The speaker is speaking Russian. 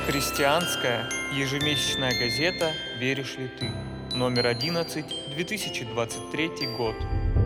Христианская ежемесячная газета «Веришь ли ты?» Номер 11, 2023 год.